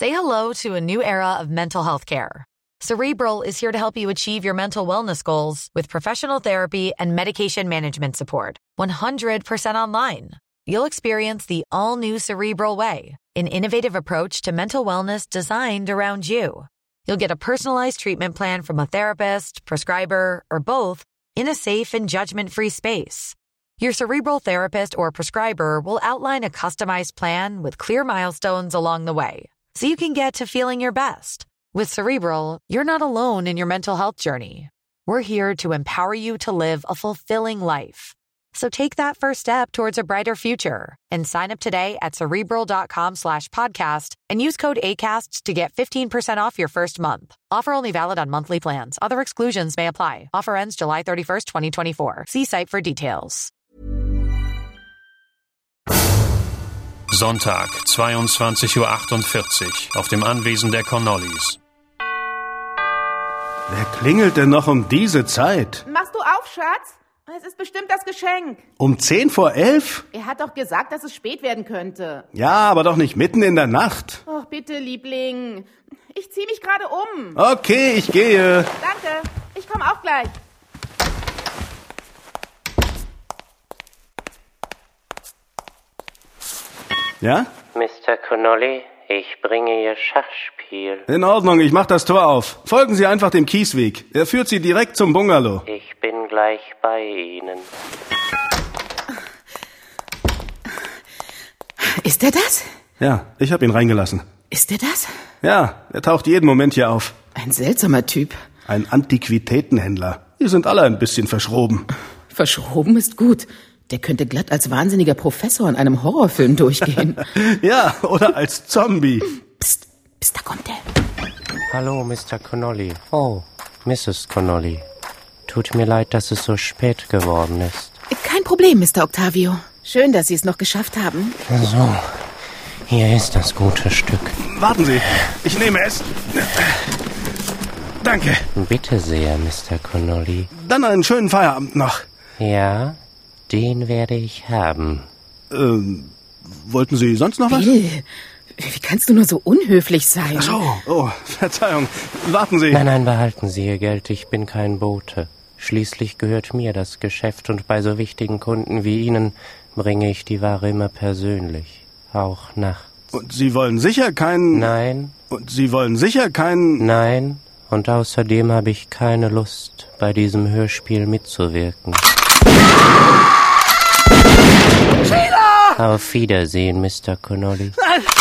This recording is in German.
Say hello to a new era of mental health care. Cerebral is here to help you achieve your mental wellness goals with professional therapy and medication management support. 100% online. You'll experience the all-new Cerebral Way, an innovative approach to mental wellness designed around you. You'll get a personalized treatment plan from a therapist, prescriber, or both in a safe and judgment-free space. Your Cerebral therapist or prescriber will outline a customized plan with clear milestones along the way, so you can get to feeling your best. With Cerebral, you're not alone in your mental health journey. We're here to empower you to live a fulfilling life. So take that first step towards a brighter future and sign up today at Cerebral.com/podcast and use code ACAST to get 15% off your first month. Offer only valid on monthly plans. Other exclusions may apply. Offer ends July 31st, 2024. See site for details. Sonntag, 22:48 Uhr auf dem Anwesen der Connollys. Wer klingelt denn noch um diese Zeit? Machst du auf, Schatz? Es ist bestimmt das Geschenk. Um 10:10? Er hat doch gesagt, dass es spät werden könnte. Ja, aber doch nicht mitten in der Nacht. Och, bitte, Liebling. Ich zieh mich gerade um. Okay, ich gehe. Danke, ich komme auch gleich. Ja? Mr. Connolly, ich bringe Ihr Schachspiel. In Ordnung, ich mach das Tor auf. Folgen Sie einfach dem Kiesweg. Er führt Sie direkt zum Bungalow. Ich bin gleich bei Ihnen. Ist er das? Ja, ich habe ihn reingelassen. Ist er das? Ja, er taucht jeden Moment hier auf. Ein seltsamer Typ. Ein Antiquitätenhändler. Die sind alle ein bisschen verschroben. Verschroben ist gut. Der könnte glatt als wahnsinniger Professor in einem Horrorfilm durchgehen. Ja, oder als Zombie. Psst, da kommt er. Hallo, Mr. Connolly. Oh, Mrs. Connolly. Tut mir leid, dass es so spät geworden ist. Kein Problem, Mr. Octavio. Schön, dass Sie es noch geschafft haben. So, hier ist das gute Stück. Warten Sie, ich nehme es. Danke. Bitte sehr, Mr. Connolly. Dann einen schönen Feierabend noch. Ja, den werde ich haben. Wollten Sie sonst noch was? Bill, wie kannst du nur so unhöflich sein? Ach so, oh, Verzeihung. Warten Sie. Nein, behalten Sie Ihr Geld, ich bin kein Bote. Schließlich gehört mir das Geschäft und bei so wichtigen Kunden wie Ihnen bringe ich die Ware immer persönlich, auch nachts. Und Sie wollen sicher keinen... Nein. Und Sie wollen sicher keinen... Nein, und außerdem habe ich keine Lust, bei diesem Hörspiel mitzuwirken. Sheila! Auf Wiedersehen, Mr. Connolly. Nein!